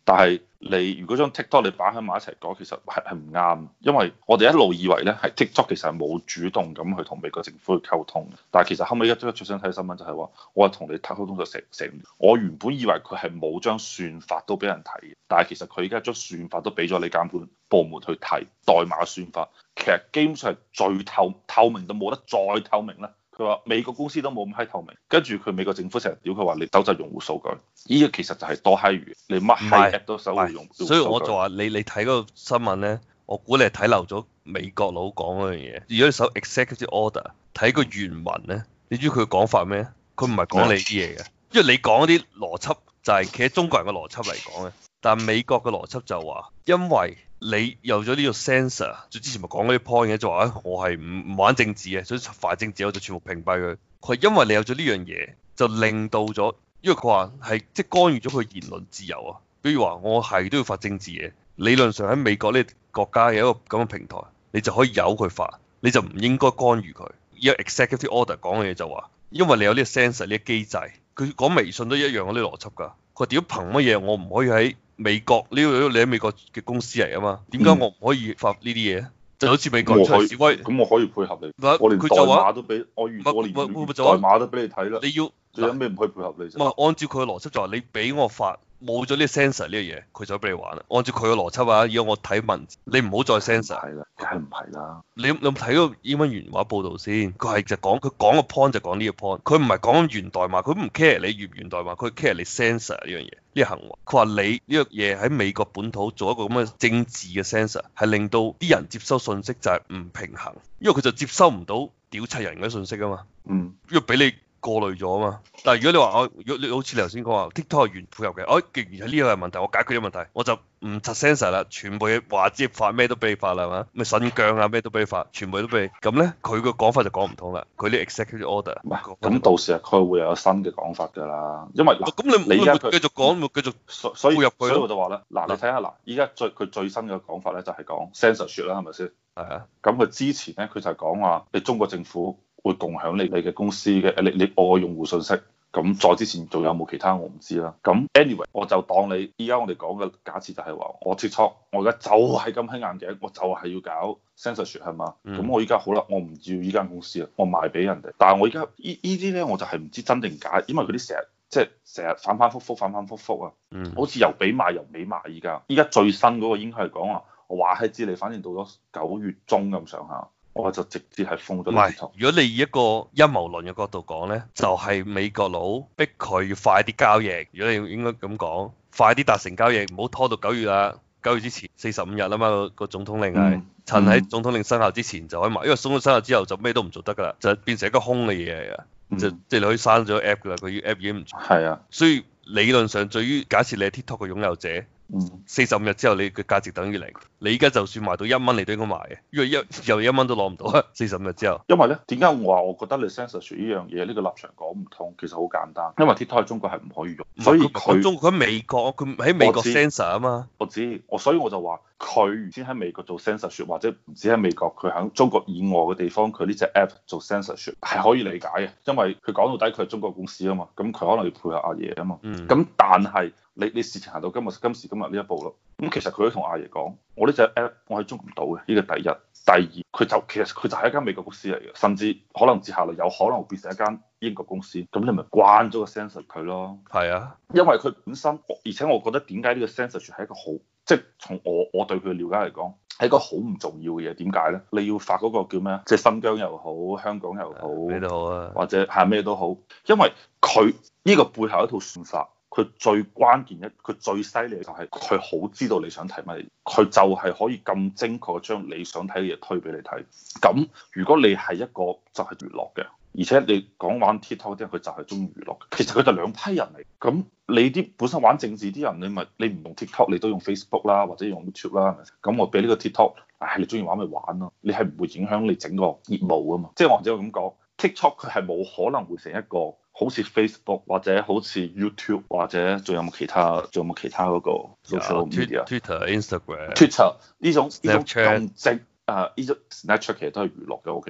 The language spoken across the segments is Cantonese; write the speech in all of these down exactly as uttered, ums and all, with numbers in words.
但係你如果將 TikTok 你擺喺埋一齊講，其實係係唔啱，因為我哋一路以為咧係 TikTok 其實係冇主動咁去同美國政府去溝通，但係其實後尾一最最新睇新聞就係話，我係同你溝通咗成成，我原本以為佢係冇將算法都俾人睇，但係其實佢而家將算法都俾咗你監管部門去睇代碼算法，其實基本上係最透透明到冇得再透明啦。佢話美國公司都冇咁閪透明，跟住佢美國政府成日屌佢話你收集用戶數據，呢個其實就係多閪餘，你乜閪 app 都收集用戶數據。 所以我就話你你睇嗰個新聞咧，我估你係睇漏咗美國佬講嗰樣嘢。如果你搜 executive order 睇個原文咧，你知佢講法咩？佢唔係講你啲嘢嘅，因為你講嗰啲邏輯就係企喺中國人嘅邏輯嚟講嘅，但係美國嘅邏輯就話，因為你有咗呢個 sensor，就之前咪講嗰啲 point 嘅，就話我係唔唔玩政治嘅，所以反政治我就全部屏蔽佢。佢係因為你有咗呢樣嘢，就令到咗，因為佢話係即係干預咗佢言論自由啊。比如話我係都要發政治嘢，理論上喺美國呢個國家有一個咁嘅平台，你就可以由佢發，你就唔應該干預佢。依個 executive order 講嘅嘢就話，因為你有呢個 sensor 呢個機制，佢講微信都一樣嗰啲邏輯㗎。佢屌憑乜嘢我唔可以喺美國呢個你喺美國嘅公司嚟啊嘛？點解我唔可以發呢啲嘢？就好似美國出示威， 咁我可以配合你。我連代碼都俾我預，我連代碼都俾你睇啦。你要你有咩唔可以配合你？ 唔係按照佢嘅邏輯就話你俾我發。冇咗呢個 sensor 呢個嘢，佢就俾你玩啦。按照佢嘅邏輯啊，如果我睇文字，你唔好再 sensor。係啦， 梗係唔係啦？ 你你有冇睇嗰個英文原話報導先？佢係就講佢講個 point 就講呢個 point，佢唔係講源代碼，佢唔 care 你源唔源代碼，佢 care 你 sensor 呢樣嘢呢個行為。佢話你呢個嘢喺美國本土做一個咁嘅政治嘅 sensor，係令到啲人接收信息就係唔平衡，因為佢就接收唔到屌柒人嘅信息啊嘛。嗯，因為俾你過濾咗啊嘛，但係如果你話我，如果你好似你頭先講話 TikTok 係原配合嘅，我既然係呢個係問題，我解決咗問題，我就唔拆 sensor 啦，全部嘢話接發咩都俾你發啦，係嘛？咪新疆啊咩都俾你發，全部都俾你，咁咧佢個講法就講唔通啦。佢啲 executive order 唔係，咁到時佢會有新嘅講法㗎啦，因為咁你你而家繼續講，咪繼續所所以入去所以我就話咧，嗱你睇下嗱，依家最佢最新嘅講法咧就係講 censorship 啦，係咪先？係啊，咁佢之前咧佢就係講話你中國政府會共享你你嘅公司嘅你你我嘅用戶信息，咁再之前仲有冇其他我唔知啦。咁 anyway 我就當你依家我哋講嘅假設就係話我 TikTok 我而家就係咁喺眼鏡，我就係要搞 censorship 係嘛？咁、嗯、我依家好啦，我唔要依間公司啦，我賣俾人哋。但係我依家依依啲咧我就係唔知真定假，因為佢啲成日即係成日反反覆覆反反覆覆啊，嗯、好似又俾賣又唔俾賣依家。依家最新嗰個應該係講話我話係知你，反正到咗九月中咁上下。我就直接係封咗。唔係， 如果你以一個陰謀論嘅角度講咧，就係、是、美國佬逼佢要快啲交易。如果你應該咁講，快啲達成交易，唔好拖到九月啦。九月之前四十五日啊嘛，個個總統令係、嗯、趁喺總統令生效之前就可以買，因為總統生效之後就咩都唔做得㗎啦，就變成一個空嘅嘢嚟㗎。嗯、就即係你可以刪咗 app 㗎啦，佢 app 已經唔做。係啊，所以理論上對於假設你係 TikTok 嘅擁有者。四十五日之後，你嘅價值等於零。你依家就算賣到一蚊，你都應該賣嘅，因為一又一蚊都攞唔到啊！四十五日之後， 因為咧點解我話我覺得你 censorship 呢樣嘢呢、呢個立場講唔通？其實好簡單，因為 TikTok 喺中國係唔可以用，所以佢中國喺美國，佢喺美國 censor 啊嘛。 我知，我所以我就話佢先喺美國做 censorship，或者唔止喺美國，佢喺中國以外嘅地方，佢呢隻 app 做 censorship 係可以理解嘅，因為佢講到底佢係中國公司啊嘛，咁佢可能要配合阿爺啊嘛。咁、嗯、但係你你事情行到今日今時今日呢一步咯，咁其實佢都同阿爺講，我呢隻 app 我係捉唔到嘅，呢個第一。第二，佢就其實佢就係一間美國公司嚟嘅，甚至可能接下來有可能會變成一間英國公司，咁你咪關咗個 censor 佢咯。係啊，因為佢本身，而且我覺得點解呢個 censorship 係一個好，即係從我我對佢嘅了解嚟講，係一個好唔重要嘅嘢。點解咧？你要發嗰個叫咩？即係新疆又好，香港又好，咩都好啊，或者係咩都好，因為佢呢個背後一套算法。佢最關鍵一，佢最犀利就係佢好知道你想睇乜嘢，佢就係可以咁精確將你想睇嘅嘢推俾你睇。咁如果你係一個就係娛樂嘅，而且你講玩 TikTok 啲人佢就係中意娛樂嘅，其實佢就兩批人嚟。咁你啲本身玩政治啲人，你咪你唔用 TikTok，你都用 Facebook 啦，或者用 YouTube 啦，係咪？咁我俾呢個 TikTok，唉，你中意玩咪玩咯，你係唔會影響你整個業務啊嘛。即係或者我咁講 TikTok 佢係冇可能會成一個。好似 Facebook 或者好似 YouTube 或者仲有冇其他仲有冇其他嗰個 social media Twitter、Instagram、 Twitter 呢種呢種咁正啊，呢種 Snapchat 其實都係娛樂嘅，我記得。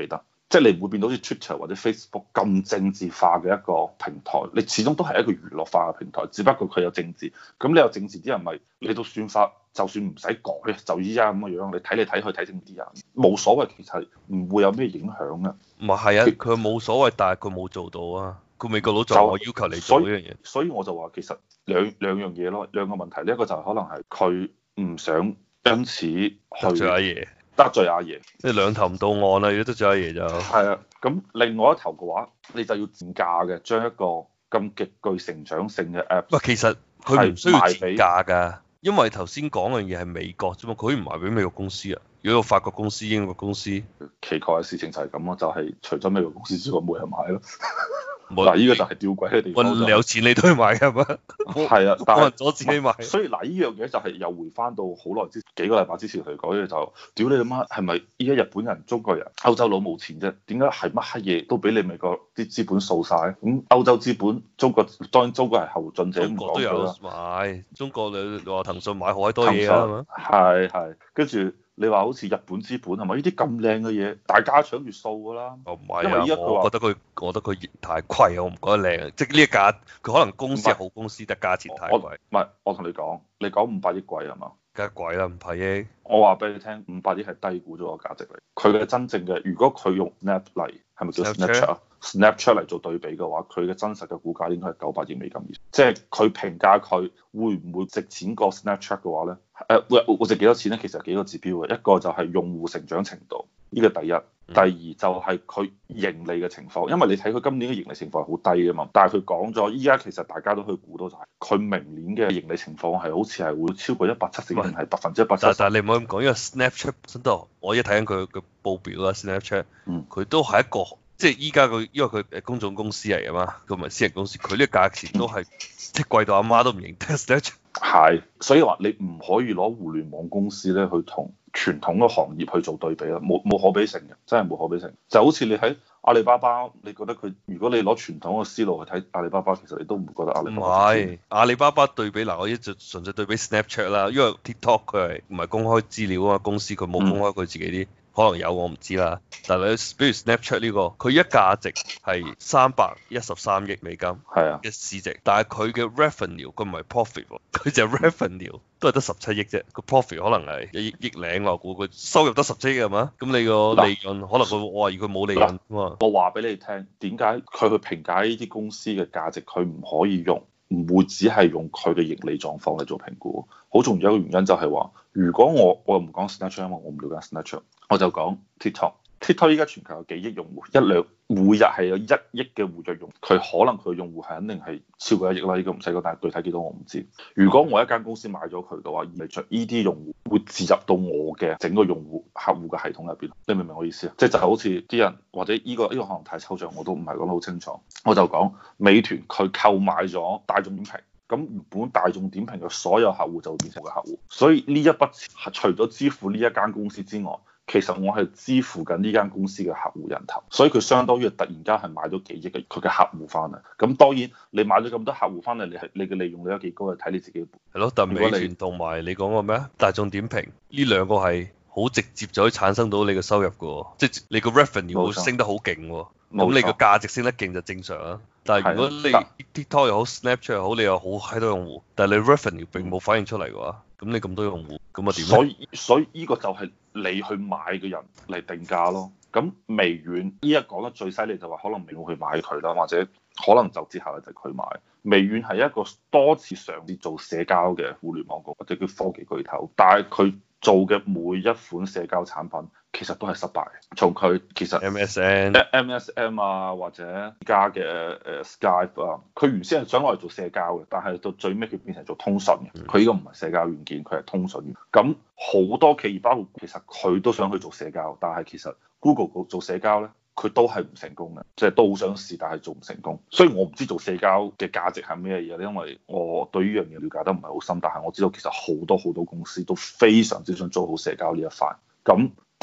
即係你唔會變到好似 Twitter 或者 Facebook 咁政治化嘅一個平台，你始終都係一個娛樂化嘅平台，只不過佢有政治。咁你有政治啲人咪你都算法，就算唔使改，就依家咁嘅樣，你睇嚟睇去睇政治人冇所謂，其實唔會有咩影響嘅。 唔係係啊，佢冇所謂，但係佢冇做到啊。佢美國佬就我要求你做呢樣嘢， 所以我就話其實兩兩樣嘢咯，兩個問題。呢一個就係可能係佢唔想因此去得罪阿爺， 得罪阿爺， 即係兩頭唔到岸啦。如果得罪阿爺就係啊。咁另外一頭嘅話，你就要賤價嘅，將一個咁極具成長性嘅 app。 喂，其實佢唔需要賤價㗎，因為頭先講嘅嘢係美國啫嘛，佢唔賣俾美國公司啊。如果有法國公司、英國公司， 奇怪嘅事情就係咁咯，就係、是、除咗美國公司之外冇人買咯。嗱，呢個就係吊詭嘅地方、就是。 你有錢你都去買㗎嘛？ 係啊，但係阻止你買。 所以嗱，呢樣嘢就係又回翻到好耐之幾個禮拜之前嚟講嘅就，屌你阿媽係咪依家日本人、中國人、歐洲佬冇錢啫？點解係乜閪嘢都俾你美國啲資本掃晒？咁歐洲資本，中國當然中國係後進者， 中國都有買，中國你話騰訊買好閪多嘢啊嘛。 係係，跟住。你話好似日本資本係咪呢啲咁靚嘅嘢，大家搶住掃㗎啦？ 哦，唔係啊，我覺得佢，我覺得佢太貴，我唔覺得靚。即係呢一價，佢可能公司係好公司，但價錢太貴。 唔係，我同你講，你講五百億貴係嘛？ 梗係貴啦，五百億。 我話俾你聽，五百億係低估咗個價值嚟。佢嘅真正嘅，如果佢用 Snap 嚟，係咪叫 Snapchat 啊？Snapchat 嚟做對比嘅話，佢嘅真實嘅股價應該係九百億美金以上。即係佢評價佢會唔會值錢過 Snapchat 嘅話咧？誒會會值幾多錢咧？其實幾個指標嘅，一個就係用戶成長程度，呢個第一；第二就係佢盈利嘅情況，因為你睇佢今年嘅盈利情況係好低啊嘛。但係佢講咗，依家其實大家都可以估到就係佢明年嘅盈利情況係好似係會超過一百七十，定係百分之一百七十。 但係你唔好咁講，因為 Snapchat 本身都，我而家睇緊佢嘅報表啦，Snapchat，佢都係一個。即係依家佢，因為佢誒公眾公司嚟啊嘛，佢唔係私人公司，佢呢個價錢都係即係貴到阿媽都唔認得。 係，所以話你唔可以攞互聯網公司咧去同傳統嘅行業去做對比啦，冇冇可比性嘅，真係冇可比性。就好似你喺阿里巴巴，你覺得佢如果你攞傳統嘅思路去睇阿里巴巴，其實你都唔會覺得阿里巴巴。唔係阿里巴巴對比嗱，我一直純粹對比 Snapchat 啦，因為 TikTok 佢係唔係公開資料啊嘛，公司佢冇公開佢自己啲。嗯可能有我唔知啦，但係你比如 Snapchat 呢個，佢一價值係三百一十三億美金，係啊嘅市值，但係佢嘅 revenue 佢唔係 profit，佢就 revenue 都係得十七億啫，個 profit 可能係一億億零，我估佢收入得十七億係嘛？咁你個利潤可能佢我懷疑佢冇利潤啊嘛。 我話俾你聽，點解佢去評價呢啲公司嘅價值，佢唔可以用，唔會只係用佢嘅盈利狀況嚟做評估。好重要一個原因就係話，如果我我又唔講 Snapchat，因為我唔了解 Snapchat。我就講 TikTok，TikTok 依家全球有幾億用戶，一兩每日係有一億嘅活躍用戶，佢可能佢嘅用戶係肯定係超過一億啦，呢個唔使講，但係具體幾多我唔知。如果我一間公司買咗佢嘅話，意味著依啲用戶會置入到我嘅整個用戶客戶嘅系統入邊，你明唔明我意思啊？即係就好似啲人或者呢個呢個可能太抽象，我都唔係講得好清楚。我就講美團佢購買咗大眾點評。咁原本大眾點評嘅所有客戶就會變成我嘅客戶，所以呢一筆錢除咗支付呢一間公司之外，其實我係支付緊呢間公司嘅客戶人頭，所以佢相當於突然間係買咗幾億嘅佢嘅客戶翻嚟。咁當然你買咗咁多客戶翻嚟，你係你嘅利用率有幾高，係睇你自己。 係咯，但美團同埋你講個咩啊？大眾點評呢兩個係好直接就可以產生到你嘅收入嘅，即係你個 revenue 會升得好勁喎。咁你個價值升得勁就正常啊。但係如果你 TikTok 又好 Snapchat 又好，你有好閪多用戶，但係你 revenue 並冇反映出嚟嘅話，咁你咁多用戶，咁啊點？ 所以所以呢個就係你去買嘅人嚟定價咯。咁微軟依家講得最犀利就話可能微軟去買佢啦，或者可能就接下來就佢買。微軟係一個多次嘗試做社交嘅互聯網局或者叫科技巨頭，但係佢做嘅每一款社交產品其實都係失敗。從佢其實 M S N、 M S N 啊，或者而家嘅誒 Skype 啊，佢原先係想攞嚟做社交嘅，但係到最尾佢變成做通訊嘅。佢呢個唔係社交軟件，佢係通訊。咁好多企業包括其實佢都想去做社交，但係其實 Google 做社交咧，佢都係唔成功嘅，即係都好想試，但係做唔成功。所以我唔知做社交嘅價值係咩嘢咧，因為我對呢樣嘢了解得唔係好深。但係我知道其實好多好多公司都非常之想做好社交呢一塊。咁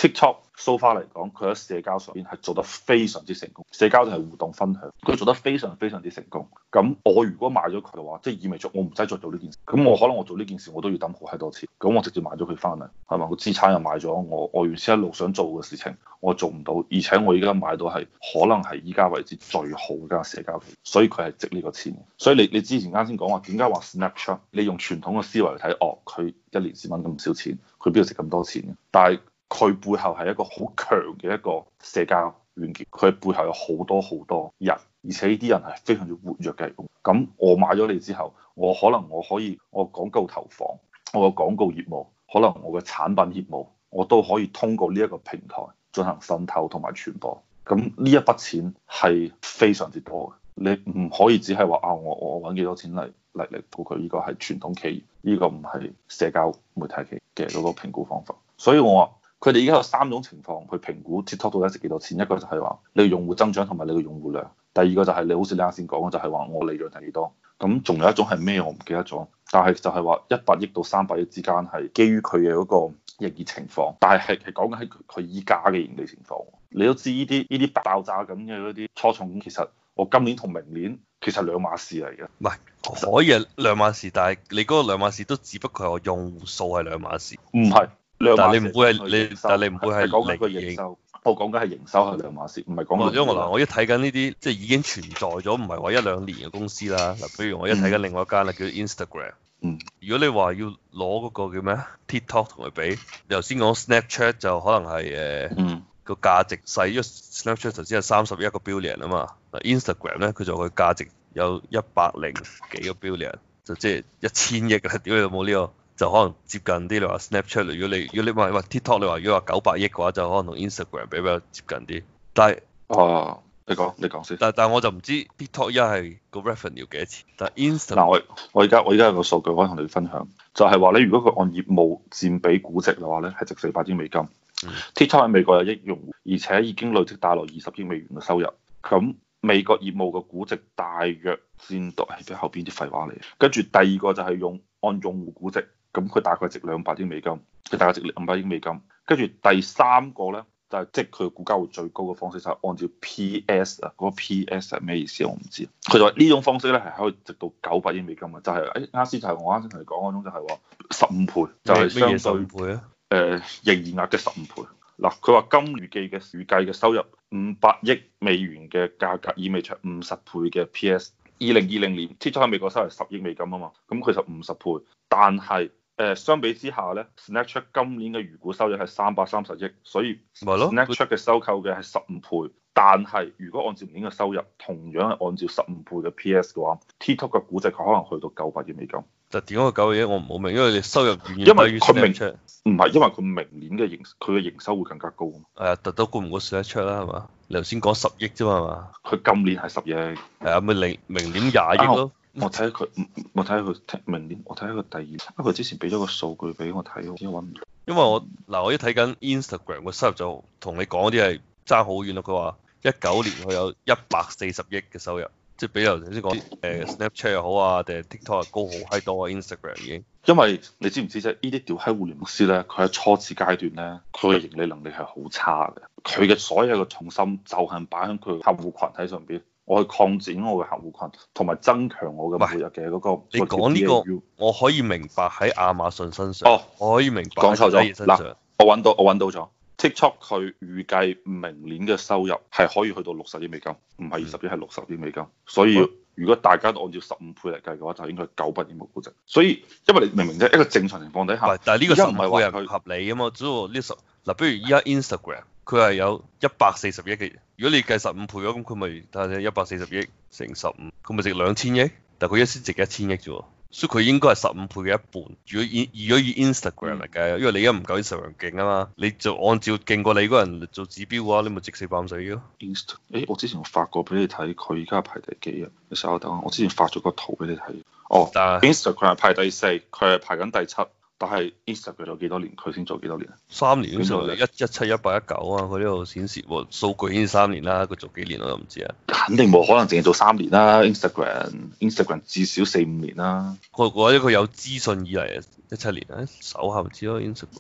TikTok so far 嚟講，佢喺社交上邊係做得非常之成功。社交就係互動分享，佢做得非常非常之成功。咁我如果買咗佢嘅話，即係意味住我唔使再做呢件事。咁我可能我做呢件事我都要抌好閪多錢。咁我直接買咗佢翻嚟，係嘛？個資產又買咗，我我原先一路想做嘅事情我做唔到，而且我而家買到係可能係依家為止最好嘅間社交企業，所以佢係值呢個錢。所以你你之前啱先講話點解話 Snapchat，你用傳統嘅思維嚟睇，哦，佢一年只揾咁少錢，佢邊度值咁多錢嘅？但係佢背後係一個好強嘅一個社交軟件，佢背後有好多好多人，而且呢啲人係非常之活躍嘅人。咁我買咗你之後，我可能我可以我廣告投放，我嘅廣告業務，可能我嘅產品業務，我都可以通過呢一個平台進行滲透同埋傳播。咁呢一筆錢係非常之多嘅，你唔可以只係話啊，我我揾幾多錢嚟嚟嚟估佢呢個係傳統企業，呢個唔係社交媒體企業嘅嗰個評估方法。所以我話。佢哋而家有三種情況去評估 TikTok 到底值幾多錢，一個就係話你嘅用戶增長同埋你嘅用戶量，第二個就係你好似你啱先講嘅，就係話我利潤係幾多，咁仲有一種係咩我唔記得咗，但係就係話一百億到三百億之間係基於佢嘅嗰個營業情況，但係係係講緊喺佢佢依家嘅盈利情況。你都知呢啲呢啲爆炸緊嘅嗰啲初創公司，其實我今年同明年其實兩碼事嚟嘅。 唔係可以係兩碼事，但係你嗰個兩碼事都只不過係我用戶數係兩碼事， 唔係。 但係你唔會係你，但係你唔會係講緊個營收。我講緊係營收係兩碼事，唔係講緊。 因為我嗱，我一睇緊呢啲即係已經存在咗，唔係話一兩年嘅公司啦。嗱，比如我一睇緊另外一間啦，叫 Instagram。 嗯。 如果你話要攞嗰個叫咩 TikTok 同佢比，你頭先講 Snapchat 就可能係誒。嗯。個價值細，因為 Snapchat 頭先係三十一個 billion 啊嘛。嗱 Instagram 咧，佢就佢價值有一百零幾個 billion，就即係一千億啦。屌你有冇呢個？就可能接近啲，你話 Snapchat，如果你如果你話話 TikTok，你話如果話九百億嘅話，就可能同 Instagram 比較接近啲。但係哦，你講你講先。 但但係我就唔知 TikTok 一係個 revenue 幾多錢。但係 Instagram 嗱，我我而家我而家有個數據可以同你分享，就係話你如果佢按業務佔比估值嘅話咧，係值四百億美金。嗯、TikTok 喺美國有億用戶，而且已經累積帶來二十億美元嘅收入。咁美國業務嘅估值大約佔到係後邊啲廢話嚟。跟住第二個就係用按用戶估值。咁佢大概值兩百億美金，佢大概值兩百億美金。跟住第三個咧，就係即係佢股價會最高嘅方式，就係按照 P S 啊，嗰個 P S 係咩意思我唔知。佢就話呢種方式咧係可以值到九百億美金嘅，就係誒啱先就係我啱先同你講嗰種，就係話十五倍，就係相對十五倍啊。 誒營業額嘅十五倍。嗱，佢話今預計嘅預計嘅收入五百億美元嘅價格，意味著五十倍嘅 P S。二零二零年 TikTok 喺美國收入十億美金啊嘛，咁佢就五十倍，但係。誒相比之下咧 Snapchat 今年嘅預估收入係三百三十億，所以 Snapchat 嘅收購嘅係十五倍。但係如果按照年嘅收入，同樣係按照十五倍嘅 P S 嘅話，TikTok 嘅估值佢可能去到九百億美金。 但點解個九百億我唔好明，因為你收入遠遠低於 Snapchat。唔係，因為佢明年嘅營佢嘅營收會更加高。 係啊，特都估唔過 Snapchat 啦，係嘛？你頭先講十億啫嘛，係嘛？ 佢今年係十億。係啊，咪明明年廿億咯。 我睇下佢，我睇下佢明年，我睇下佢第二，因為佢之前俾咗個數據俾我睇，我點解揾唔到？ 因為我嗱，我一睇緊 Instagram 個收入就同你講嗰啲係爭好遠咯。佢話一九年佢有一百四十億嘅收入，即係比頭先講誒 Snapchat 又好啊，定係 TikTok 高好閪多啊 Instagram 已經。 因為你知唔知啫？呢啲屌閪互聯網公司咧，佢喺初始階段咧，佢嘅盈利能力係好差嘅。佢嘅所有嘅重心就係擺喺佢客戶群體上邊。我去擴展我嘅客戶群，同埋增強我嘅每日嘅嗰個。 你講呢個，我可以明白喺亞馬遜身上。 哦， 我可以明白。 講錯咗。嗱，我揾到，我揾到咗。TikTok 佢預計明年嘅收入係可以去到六十億美金，唔係二十億，係六十億美金。所以如果大家都按照十五倍嚟計嘅話，就應該係九百億嘅估值。所以因為你明唔明啫？一個正常情況底下， 但係呢個十五倍係唔合理啊嘛。只要呢十嗱，比如依家 Instagram。佢係有一百四十億嘅，如果你計十五倍咁，佢咪睇下一百四十億乘十五，佢咪值兩千億？但係佢一先值一千億啫喎，所以佢應該係十五倍嘅一半。如果以如果以 Instagram 嚟計，因為你而家唔夠 Instagram 勁啊嘛，你就按照勁過你嗰人做指標嘅話，你咪值四百五十億咯。 Inst，誒，我之前我發過俾你睇，佢而家排第幾啊？你稍等，我之前發咗個圖俾你睇。哦，但係 Instagram 係排第四，佢係排緊第七。但係 Instagram 做幾多年，佢先做幾多年啊？ 三年嗰時候，一一七一八一九啊，佢呢度顯示喎，數據顯示三年啦，佢做幾年我都唔知啊。 肯定冇可能淨係做三年啦，Instagram Instagram 至少四五年啦。 我覺得佢有資訊以嚟一七年啊，手下唔知咯 Instagram。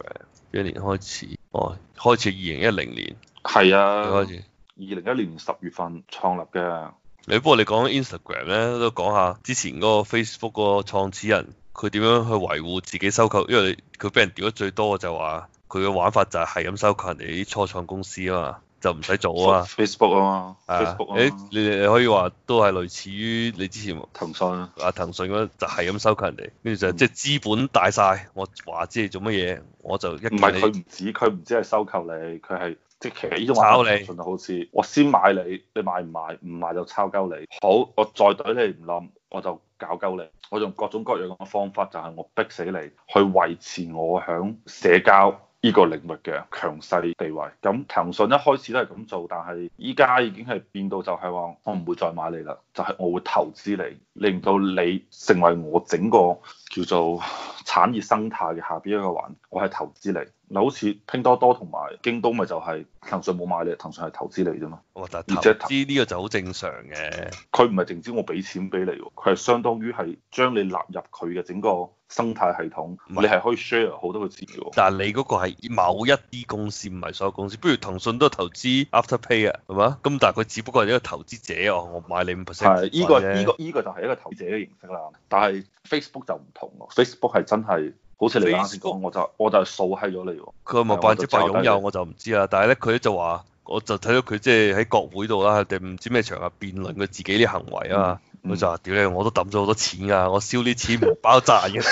一年開始？哦，開始二零一零年。 係啊， 開始。 二零一零年十月份創立嘅。 你不過你講 Instagram 咧，都講下之前嗰個 Facebook 嗰個創始人佢點樣去維護自己收購，因為佢俾人屌得最多就話佢嘅玩法就係係咁收購人哋啲初創公司啊嘛，就唔使做啊嘛。 Facebook 啊嘛啊 ，Facebook 啊誒嘛， 你你可以話都係類似於你之前騰訊啊， 啊騰訊嗰就係咁收購人哋，跟住就即係資本大晒，我話知你做乜嘢，我就一唔係見你佢唔止，佢唔止係收購你，佢係即係其實呢種炒你玩法騰訊就好似我先買你，你買唔買？唔買就抄鳩你。好，我再懟你唔冧，我就搞鳩你。我用各種各樣嘅方法，就係我逼死你，去維持我響社交呢個領域嘅強勢地位。咁騰訊一開始都係咁做，但係依家已經係變到就係話，我唔會再買你啦，就係我會投資你，令到你成為我整個叫做產業生態嘅下邊一個環，我係投資你。嗱，好似拼多多同埋京東咪就係騰訊冇買你，騰訊係投資你啫嘛。 哇！但係投資呢個就好正常嘅。 佢唔係淨止我俾錢俾你喎，佢係相當於係將你納入佢嘅整個生態系統，你係可以 share 好多嘅資料。 但係你嗰個係某一啲公司，唔係所有公司。不如騰訊都投資 Afterpay 啊，係嘛？咁但係佢只不過係一個投資者哦，我買你五 percent。 係，依個依個依個就係一個投資者嘅形式啦。但係 Facebook 就唔同喎，Facebook 係真係。好似你啱先講，我就我就係掃閪咗你喎。 佢係咪百分之百擁有我就唔知啦。但係咧，佢咧就話，我就睇到佢即係喺國會度啦，定唔知咩場合辯論佢自己啲行為啊嘛。佢、嗯嗯、就話：屌你，我都抌咗好多錢㗎，我燒啲錢唔包賺嘅。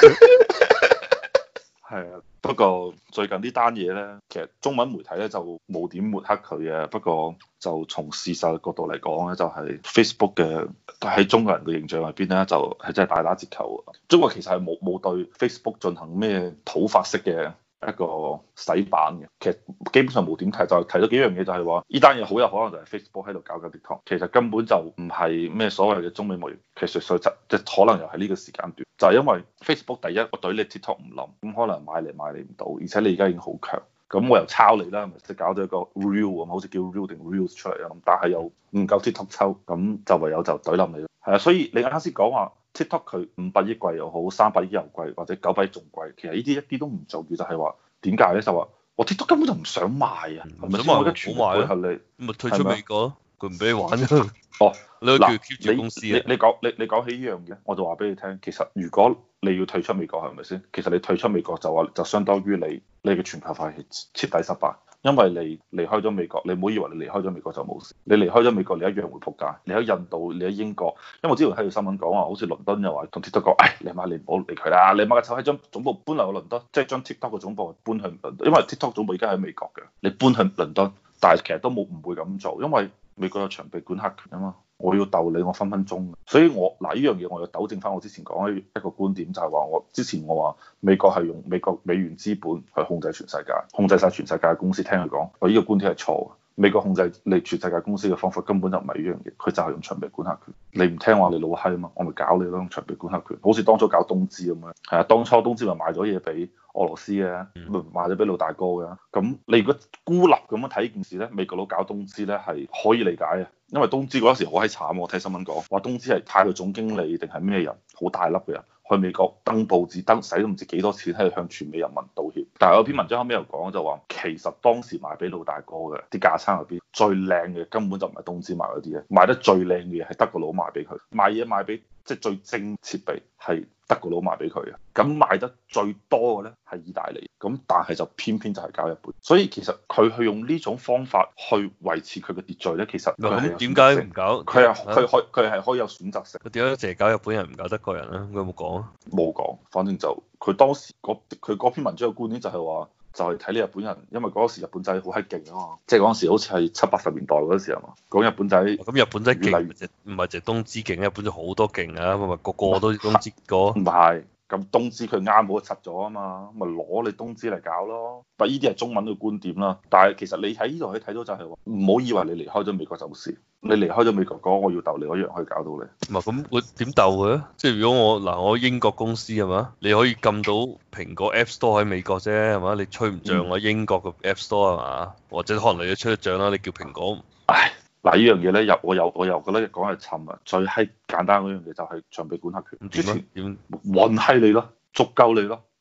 係啊，不過最近呢單嘢咧，其實中文媒體咧就冇點抹黑佢嘅。不過就從事實角度嚟講咧，就係、是、Facebook 嘅喺中國人嘅形象入邊咧，就係、是、真係大打折扣。中國其實係冇冇對 Facebook 進行咩土法式嘅一個洗版嘅，其實基本上冇點提，就提咗幾樣嘢，就係話呢單嘢好有可能就係 Facebook 喺度搞緊 TikTok，其實根本就唔係咩所謂嘅中美貿易，其實實質即係可能又係呢個時間段，就係、是、因為 Facebook 第一我對你 TikTok 唔冧，咁可能買嚟買你唔到，而且你而家已經好強，咁我又抄你啦，咪即係搞咗一個 Real 咁，好似叫 Real 定 Reels 出嚟啊，但係又唔夠 TikTok 抽，咁就唯有就懟冧你咯。係啊，所以你啱先講話。TikTok 佢五百億貴又好，三百億又貴，或者九百億仲貴，其實呢啲一啲都唔重要，就係話點解咧？就話我 TikTok 根本就唔想賣啊，唔想賣，我全部配合你， 咪退出美國，佢唔俾你玩啫。 哦， 你叫 keep 住公司啊？ 你你講你你講起呢樣嘢，我就話俾你聽，其實如果你要退出美國係咪先？其實你退出美國就話就相當於你你嘅全球化係徹底失敗。因為你離開咗美國，你唔好以為你離開咗美國就冇事，你離開咗美國你一樣會仆街。你喺印度，你喺英國，因為我之前睇到新聞講話，好似倫敦又話同 TikTok 講，唉，你媽你唔好理佢啦，你媽個臭閪將總部搬嚟去倫敦，即係將 TikTok 嘅總部搬去倫敦，因為 TikTok 總部而家喺美國嘅，你搬去倫敦，但係其實都冇唔會咁做，因為美國有長臂管轄權啊嘛。我要鬥你，我分分鐘。所以我嗱呢樣嘢，我要糾正翻我之前講嘅一個觀點，就係話我之前我話美國係用美國美元資本去控制全世界，控制晒全世界嘅公司。聽佢講，我呢個觀點係錯嘅。美國控制你全世界公司嘅方法根本就唔係呢樣嘢，佢就係用長臂管轄權。你唔聽話，你老閪啊嘛，我咪搞你咯，用長臂管轄權。好似當初搞東芝咁樣，係啊，當初東芝咪賣咗嘢俾俄羅斯嘅，咪賣咗俾老大哥嘅。咁你如果孤立咁樣睇呢件事咧，美國佬搞東芝咧係可以理解嘅。因為東芝嗰時好閪慘，我睇新聞講話東芝係派佢總經理定係咩人，好大粒嘅人去美國登報紙，登使都唔知幾多錢喺度向全美人民道歉。但係有篇文章後尾又講就話，其實當時賣俾老大哥嘅啲架撐入邊最靚嘅根本就唔係東芝賣嗰啲嘢，賣得最靚嘅嘢係德國佬賣俾佢，賣嘢賣俾即係最精設備係德國佬賣俾佢嘅，咁賣得最多嘅咧係意大利，咁但係就偏偏就係搞日本，所以其實佢去用呢種方法去維持佢嘅秩序咧，其實咁點解唔搞？ 佢係佢可佢係可以有選擇性。 佢點解淨係搞日本人唔搞德國人咧？佢有冇講啊？ 冇講，反正就佢當時佢嗰篇文章嘅觀點就係話，就係睇你日本人，因為嗰時日本仔好閪勁啊嘛，即係嗰時好似係七八十年代嗰時啊嘛，講日本仔。咁日本仔勁唔係淨係東芝勁，日本仔好多勁啊，咪咪個個都東芝個。 唔係。咁東芝佢啱好就拆咗啊嘛，咪攞你東芝嚟搞咯。但呢啲係中文嘅觀點啦。但係其實你喺呢度可以睇到就係話，唔好以為你離開咗美國就冇事。你離開咗美國講我要鬥你，我一樣可以搞到你。 唔係咁，我點鬥佢咧？即係如果我嗱我英國公司係嘛，你可以撳到蘋果 App Store 喺美國啫係嘛？你吹唔漲我英國嘅 App Store 係嘛？或者可能你都吹得漲啦，你叫蘋果。 唉。嗱，呢樣嘢咧，又我又我又覺得講係沉啊！最閪簡單嗰樣嘢就係長臂管轄權。 點啊？點運閪你咯，足夠你咯，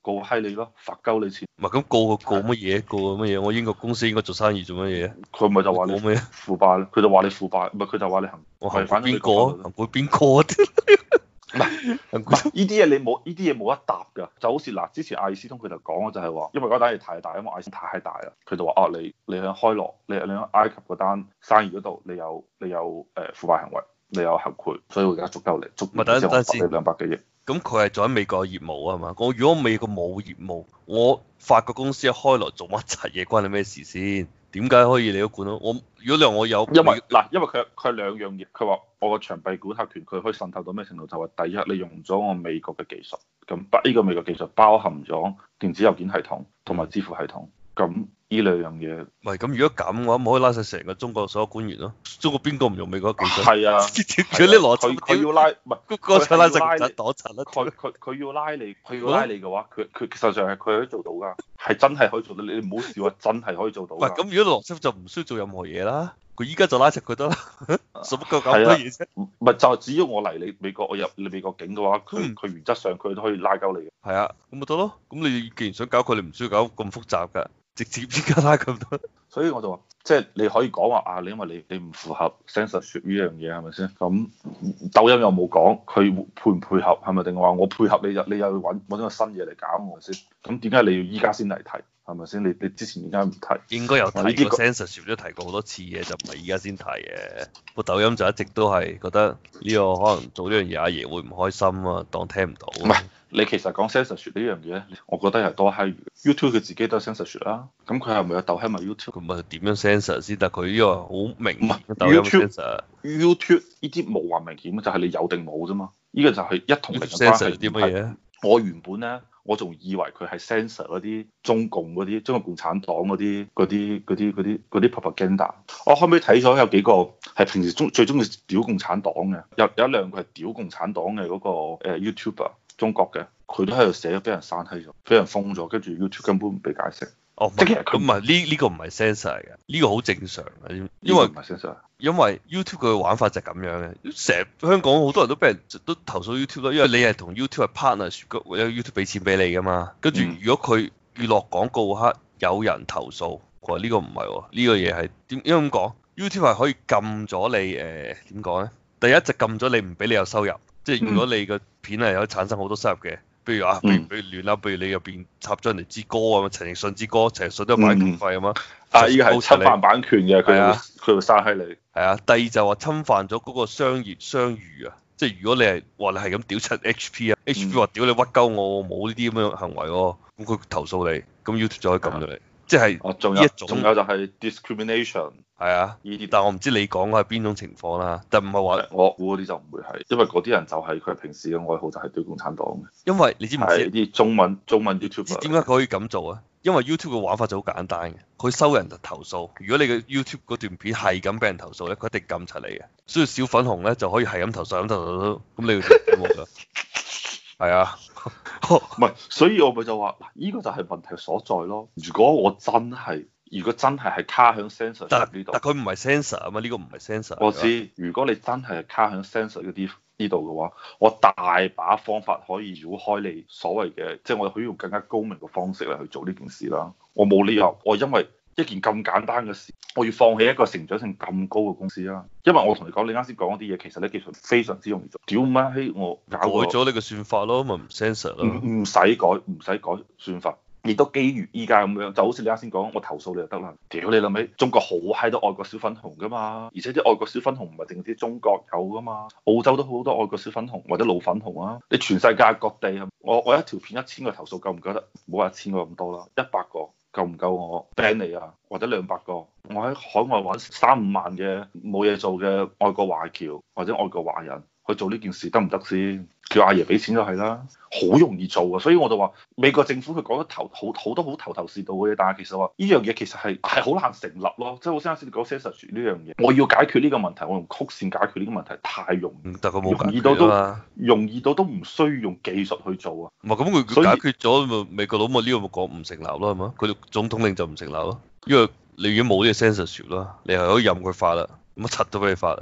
告閪你咯，罰鳩你錢。 唔係咁告佢告乜嘢？告佢乜嘢？我英國公司應該做生意做乜嘢？ 佢咪就話你告咩？ 腐敗咯，佢就話你腐敗，唔係佢就話你行我行違反邊個啊？行賄邊個啊？ 唔係唔係呢啲嘢你冇呢啲嘢冇得答㗎，就好似嗱之前阿爾斯通佢就講咗就係話，因為嗰單嘢太大，因為阿爾斯通太大啦，佢就話哦你你喺開羅，你你喺埃及嗰單生意嗰度，你有你有誒腐敗行為，你有行賄，所以我而家捉夠你，捉咪等等先，兩百幾億。 咁佢係做喺美國嘅業務啊嘛，我如果美國冇業務，我法國公司一開羅做乜柒嘢關你咩事先？點解可以你都管到？我如果你話我有， 因為嗱，因為佢佢係兩樣嘢，佢話我個長臂管轄權佢可以滲透到咩程度？就係第一，你用咗我美國嘅技術，咁呢個美國技術包含咗電子郵件系統同埋支付系統，咁呢兩樣嘢。 唔係咁，如果咁嘅話，唔可以拉晒成個中國所有官員咯。中國邊個唔用美國技術？ 係啊， 如果你邏佢佢要拉，唔係嗰個就拉成拉盞擋塵啦。 佢佢佢要拉你，佢要拉你嘅話，佢佢實際上係佢可以做到㗎，係真係可以做到。你唔好笑啊，真係可以做到。 唔係咁，如果羅斯福就唔需要做任何嘢啦。佢依家就拉實佢得啦，使乜夠咁多嘢啫？ 唔係就係只要我嚟你美國，我入你美國境嘅話，佢佢原則上佢都可以拉鳩你嘅。 係啊，咁咪得咯。咁你既然想搞佢，你唔需要搞咁複雜㗎，直接依家拉咁多。 所以我就話，即係你可以講話啊，你因為你你唔符合 censorship 呢樣嘢係咪先？咁抖音又冇講佢配唔配合係咪？定話我配合你就你又要揾揾個新嘢嚟搞我先？咁點解你要依家先嚟提？係咪先？你你之前點解唔提？ 應該有提過 censorship 都提過好多次嘅，就唔係依家先提嘅。個抖音就一直都係覺得呢個可能做呢樣嘢，阿爺會唔開心啊，當聽唔到。 唔係，你其實講 censorship 呢樣嘢，我覺得係多閪餘。YouTube 佢自己都係 censorship 啦，咁佢係咪有鬥閪埋 YouTube？ 佢咪點樣 censor 先？但係佢呢個好明顯抖音 censor。 YouTube 呢啲冇話明顯，就係、是、你有定冇啫嘛。呢、這個就係一同零嘅關係。 啲乜嘢？ 我原本咧，我仲以為佢係 censor 嗰啲中共嗰啲中國共產黨嗰啲嗰啲嗰啲嗰啲嗰啲 propaganda。我後尾睇咗有幾個係平時中最中意屌共產黨嘅，有有一兩個係屌共產黨嘅嗰個誒 YouTuber 中國嘅，佢都喺度寫咗俾人刪閪咗，俾人封咗，跟住 YouTube 根本唔俾解釋。 哦，即係佢唔係呢呢個唔係 censor 嚟嘅，呢個好正常嘅，因為唔係 censor。 因為 YouTube 佢嘅玩法就係咁樣嘅，成日香港好多人都俾人都投訴 YouTube 咯，因為你係同 YouTube 係 partner，或者 YouTube 俾錢俾你噶嘛，跟住如果佢娛樂廣告黑有人投訴，佢話呢個唔係喎，呢個嘢係點？因為咁講 YouTube 係可以禁咗你誒點講咧？第一就禁咗你唔俾你有收入，即係如果你個片係有產生好多收入嘅。譬如啊，譬如譬如亂啦，譬如你入邊插咗人哋支歌啊，陳奕迅支歌，陳奕迅都有版權費啊嘛。 啊，呢個係侵犯版權嘅，佢啊， 佢會刪閪你。 係啊，第二就話侵犯咗嗰個商業商譽啊，即係如果你係話你係咁屌柒 H P 啊，H P 話屌你屈鳩我，冇呢啲咁樣行為喎，咁佢投訴你，咁 YouTube 就可以撳到你，即係仲有一種，仲有就係 discrimination。 係啊，呢啲，但係我唔知你講嘅係邊種情況啦，但唔係話我估嗰啲就唔會係，因為嗰啲人就係佢平時嘅愛好就係對共產黨嘅。 因為你知唔知啲中文中文 YouTube 點解佢可以咁做啊？因為 YouTube 嘅玩法就好簡單嘅，佢收人就投訴。如果你嘅 YouTube 嗰段片係咁俾人投訴咧，佢一定撳齊你嘅。所以小粉紅咧就可以係咁投訴，咁投訴，咁你要點冇㗎？係啊， 唔係，所以我咪就話，嗱，呢個就係問題所在咯。如果我真係如果真係係卡響 sensor 呢度， 但佢唔係 sensor 啊嘛，呢個唔係 sensor。 我知，如果你真係卡響 sensor 嗰啲呢度嘅話，我大把方法可以繞開你所謂嘅，即係我可以用更加高明嘅方式嚟去做呢件事啦。我冇理由，我因為一件咁簡單嘅事，我要放棄一個成長性咁高嘅公司啦。因為我同你講，你啱先講嗰啲嘢，其實咧技術非常之容易做。屌乜閪，我搞改咗你個算法咯，咪唔 sensor 咯。 唔唔使改，唔使改算法。亦都基於依家咁樣，就好似你啱先講，我投訴你就得啦。屌你老味，中國好閪多外國小粉紅噶嘛，而且啲外國小粉紅唔係淨係中國有噶嘛，澳洲都好多外國小粉紅或者老粉紅啊。你全世界各地，我我一條片一千個投訴夠唔夠得？唔好話一千個咁多啦，一百個夠唔夠我 ban 你啊？或者兩百個，我喺海外揾三五萬嘅冇嘢做嘅外國華僑或者外國華人去做呢件事得唔得先？叫阿爺俾錢就係啦，好容易做啊！所以我就話美國政府佢講得頭好好多好頭頭是道嘅嘢，但係其實話呢樣嘢其實係係好難成立咯。即係我先啱先講 censorship 呢樣嘢，我要解決呢個問題，我用曲線解決呢個問題太容易， 但佢冇容易到都容易到都唔需要用技術去做啊。 唔係咁佢解決咗咪美國佬咪呢個咪講唔成立咯係嘛？佢總統令就唔成立咯，因為你已經冇呢個 censorship 啦，你係可以任佢發啦，乜柒都俾你發啦。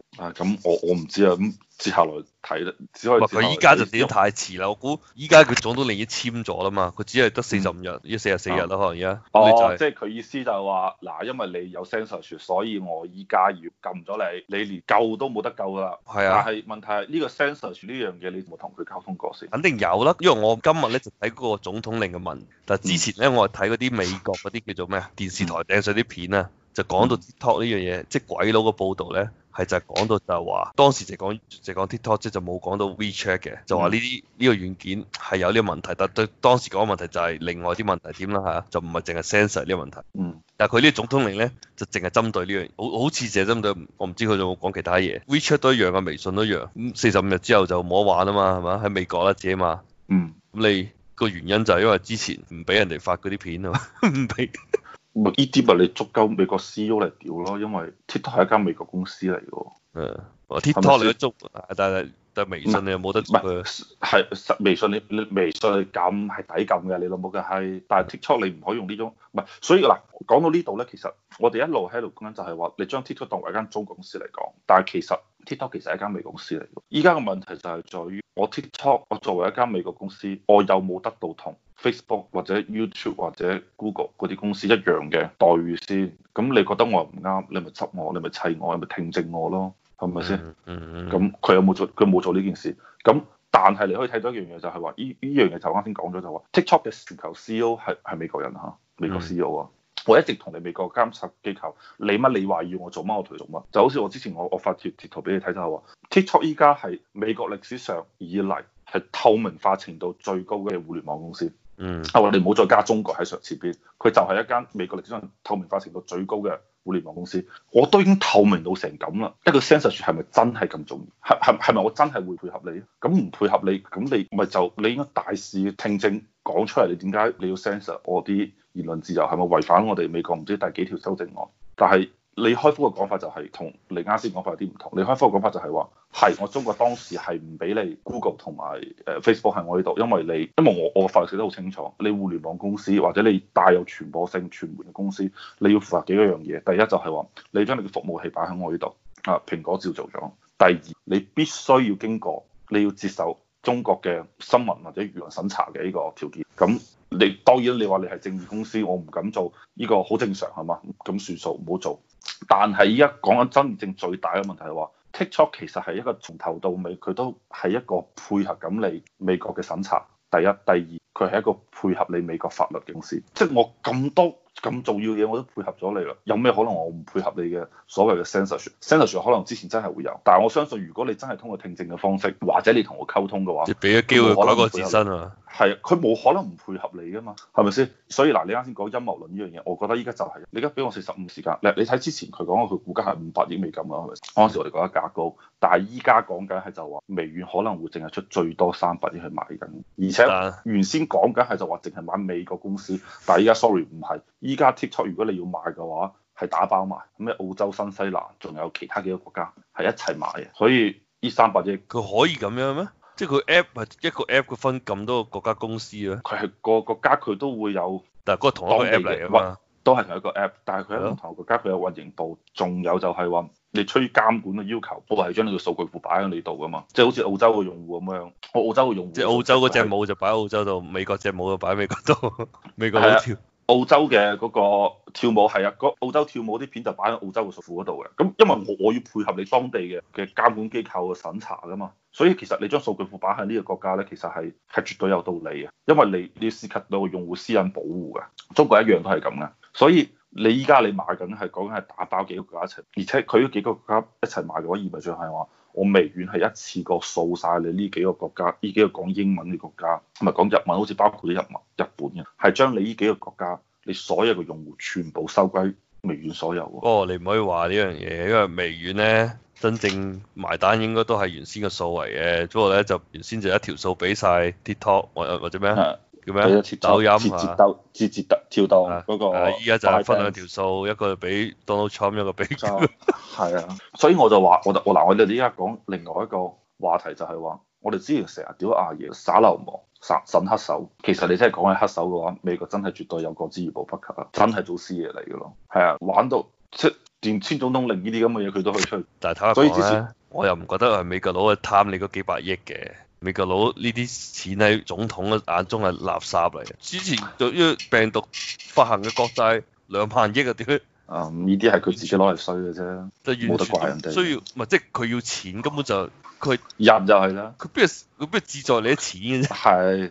啊，咁我我唔知啊，咁接下來睇咧，只可以唔係接下來睇。 佢依家就點太遲啦，我估依家佢總統令已經簽咗啦嘛，佢只係得四十五日，要四十四日啦，可能而家。咁你就哦， 係即係佢意思就係話，嗱，因為你有 censorship，所以我依家要禁咗你，你連救都冇得救噶啦。 係啊， 但係問題係呢個 censorship 呢樣嘢，你有冇同佢溝通過先？ 肯定有啦，因為我今日咧就睇嗰個總統令嘅文，但係之前咧我係睇嗰啲美國嗰啲叫做咩啊電視台掟上啲片啊，就講到 TikTok 呢樣嘢，即係鬼佬嘅報導咧。係就係講到就係話，當時就講就講 TikTok，即係就冇講到 WeChat 嘅，就話呢啲呢個軟件係有呢個問題，但對當時講嘅問題就係另外啲問題點啦嚇，就唔係淨係 censor 呢個問題。 嗯。 但係佢呢個總統令咧就淨係針對呢樣，好好似淨係針對，我唔知佢仲有冇講其他嘢。WeChat 都一樣啊，微信都一樣。咁四十五日之後就冇得玩啊嘛，係嘛？喺美國啦自己嘛。 嗯。 咁你個原因就係因為之前唔俾人哋發嗰啲片啊嘛，唔俾。 咪呢啲咪你足夠美國 C E O 嚟屌咯，因為 TikTok 係一間美國公司嚟嘅。 誒，我 TikTok 你都捉，但係但係微信你又冇得捉佢。 係實微信你你微信你撳係抵撳嘅，你老母嘅係，但係 TikTok 你唔可以用呢種，唔係，所以嗱講到呢度咧，其實我哋一路喺度講緊就係話，你將 TikTok 當為一間中國公司嚟講，但係其實 TikTok 其實係一間美國公司嚟嘅。依家嘅問題就係在於，我 TikTok 我作為一間美國公司，我有冇得到同 Facebook 或者 YouTube 或者 Google 嗰啲公司一樣嘅待遇先？咁你覺得我唔啱，你咪執我，你咪砌我，你咪聽證我咯。係咪先？咁佢有冇做？佢冇做呢件事。咁但係你可以睇到一樣嘢，就係話呢呢樣嘢就啱先講咗，就話 TikTok 嘅全球 C E O 係係美國人嚇，美國 C E O 啊。我一直同你美國監察機構，你乜你話要我做乜，我同你做乜。就好似我之前我我發貼貼圖俾你睇就係話，TikTok 依家係美國歷史上以嚟係透明化程度最高嘅互聯網公司。嗯。啊，我哋唔好再加中國喺上前邊，佢就係一間美國歷史上透明化程度最高嘅互聯網公司。我都已經透明到成咁啦，一個 censorship 係咪真係咁重要？係係係咪我真係會配合你？咁唔配合你，咁你咪就你應該大肆聽證講出嚟，你點解你要 censor 我啲言論自由？係咪違反我哋美國唔知第幾條修正案？但係李開復嘅講法就係同你啱先講法有啲唔同。李開復嘅講法就係話係我中國當時係唔俾你 Google 同埋誒 Facebook 喺我呢度，因為你因為我我法律寫得好清楚，你互聯網公司或者你帶有傳播性傳媒嘅公司，你要符合幾個樣嘢。第一就係話你將你嘅服務器擺喺我呢度啊，蘋果照做咗。第二你必須要經過你要接受中國嘅新聞或者輿論審查嘅呢個條件。咁你當然你話你係正義公司，我唔敢做呢個好正常係嘛？咁算數唔好做。但係依家講緊真正最大嘅問題係話 TikTok 其實係一個從頭到尾佢都係一個配合緊你美國嘅審查。第一、第二，佢係一個配合你美國法律嘅公司。即係我咁多咁重要嘢我都配合咗你啦，有咩可能我唔配合你嘅所謂嘅 censorship？censorship 可能之前真係會有，但係我相信如果你真係通過聽證嘅方式，或者你同我溝通嘅話， 即係俾咗機會改過自身啊。 係，佢冇可能唔配合你噶嘛，係咪先？所以嗱，你啱先講陰謀論呢樣嘢，我覺得依家就係、是、你而家俾我四十五時間，你你睇之前佢講佢股價係五百億美金啊，係咪？嗰陣時我哋覺得價高，但係依家講緊係就話微軟可能會淨係出最多三百億去買緊，而且原先講緊係就話淨係買美國公司，但係依家 sorry 唔係，依家 TikTok 如果你要買嘅話係打包賣，咩澳洲、新西蘭仲有其他幾個國家係一齊買嘅，所以呢三百億佢可以咁樣咩？即係佢 app 係一個 app 佢分咁多個國家公司啊？ 佢係個國家佢都會有， 但係嗰個同一個 app 嚟啊嘛， 都係同一個 app，但係佢喺唔同國家佢有運營部，仲有就係話你出於監管嘅要求，我係將你個數據庫擺喺你度噶嘛，即係好似澳洲嘅用戶咁樣，我澳洲嘅用戶， 即係澳洲嗰隻帽就擺喺澳洲度，美國隻帽就擺喺美國度，美國好跳。 澳洲嘅嗰個跳舞係啊，澳洲跳舞啲片就擺喺澳洲嘅數庫嗰度嘅。咁因為我我要配合你當地嘅嘅監管機構嘅審查噶嘛，所以其實你將數據庫擺喺呢個國家咧，其實係係絕對有道理嘅，因為你你要涉及到用戶私隱保護嘅，中國一樣都係咁嘅。所以你依家你買緊係講緊係打包幾個國家一齊，而且佢呢幾個國家一齊買嘅話，意味著係話我微軟係一次過掃晒你呢幾個國家，呢幾個講英文嘅國家，唔係講日文，好似包括啲日文、日本嘅，係將你呢幾個國家你所有嘅用戶全部收歸微軟所有。 哦，你唔可以話呢樣嘢，因為微軟咧真正埋單應該都係原先嘅數嚟嘅，不過咧就原先就一條數俾晒 TikTok 或或者咩叫咩抖音啊， 字節抖字節跳跳動嗰個， 依家就係分兩條數，一個俾 Donald Trump，一個俾係啊，所以我就話我我嗱我哋依家講另外一個話題就係話，我哋之前成日屌阿爺耍流氓、耍審黑手，其實你真係講起黑手嘅話，美國真係絕對有過之而無不及啊，真係做師爺嚟嘅咯，係啊，玩到即連簽總統令呢啲咁嘅嘢佢都可以出去。 但係坦白所以之前講咧，我又唔覺得係美國佬係貪你嗰幾百億嘅。美國佬呢啲錢喺總統嘅眼中係垃圾嚟嘅。之前對於病毒發行嘅國債兩萬億啊，點解？ 啊，呢啲係佢自己攞嚟衰嘅啫， 就冇得怪人哋。 需要唔係即係佢要錢，根本就佢入就係啦。 佢邊係佢邊係志在你啲錢嘅啫。 係